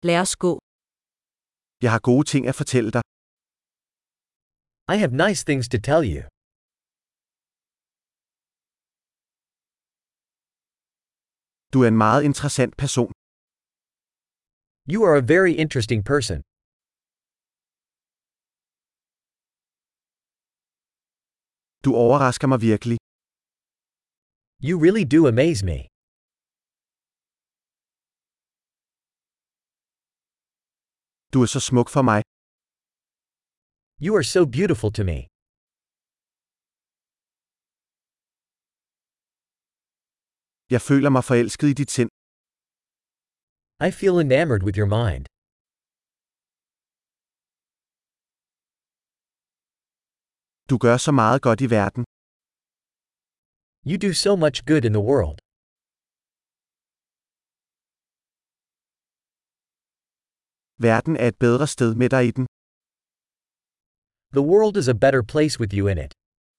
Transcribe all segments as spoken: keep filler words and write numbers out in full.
Lad os gå. Jeg har gode ting at fortælle dig. I have nice things to tell you. Du er en meget interessant person. You are a very interesting person. Du overrasker mig virkelig. You really do amaze me. Du er så smuk for mig. You are so beautiful to me. Jeg føler mig forelsket i dit sind. I feel enamored with your mind. Du gør så meget godt i verden. You do so much good in the world. Verden er et bedre sted med dig i den. The world is a better place with you in it.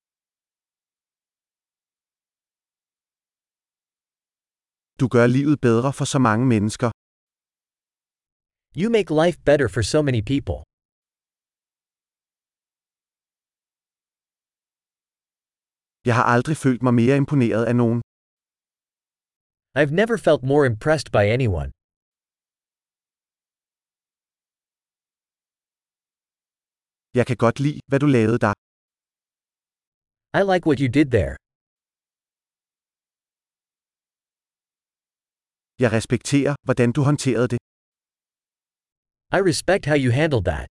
Du gør livet bedre for så mange mennesker. You make life better for so many people. Jeg har aldrig følt mig mere imponeret af nogen. I've never felt more impressed by anyone. Jeg kan godt lide, hvad du lavede der. I like what you did there. Jeg respekterer, hvordan du håndterede det. I respect how you handled that.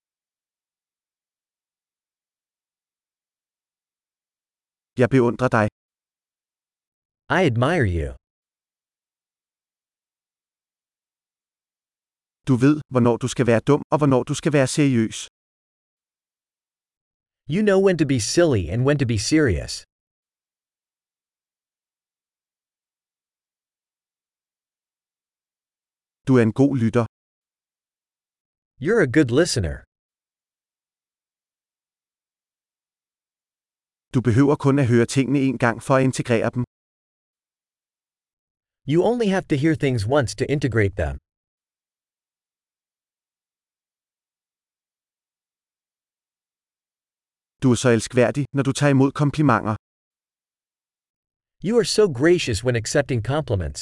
Jeg beundrer dig. I admire you. Du ved, hvornår du skal være dum og hvornår du skal være seriøs. You know when to be silly and when to be serious. Du er en god lytter. You're a good listener. Du behøver kun at høre tingene en gang for at integrere dem. You only have to hear things once to integrate them. Du er så elskværdig, når du tager imod komplimenter. You are so gracious when accepting compliments.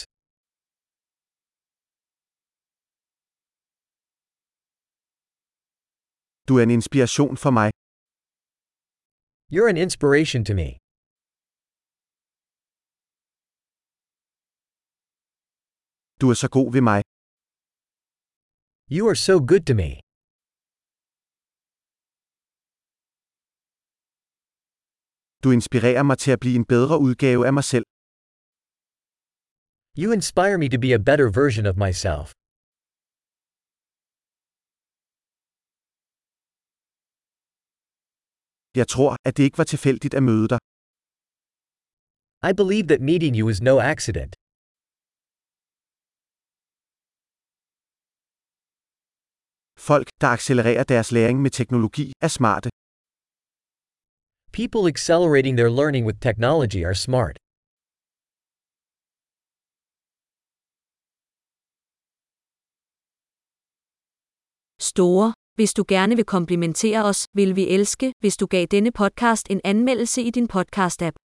Du er en inspiration for mig. You're an inspiration to me. Du er så god ved mig. You are so good to me. Du inspirerer mig til at blive en bedre udgave af mig selv. You inspire me to be a better version of myself. Jeg tror, at det ikke var tilfældigt at møde dig. I believe that meeting you is no accident. Folk, der accelererer deres læring med teknologi, er smarte. People accelerating their learning with technology are smart. Store. Hvis du gerne vil komplimentere os, vil vi elske, hvis du gav denne podcast en anmeldelse i din podcast-app.